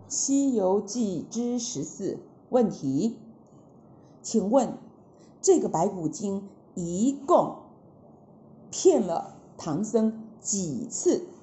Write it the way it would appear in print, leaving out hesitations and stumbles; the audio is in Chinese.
西遊記之14問題，請問這個白骨精一共騙了唐僧幾次？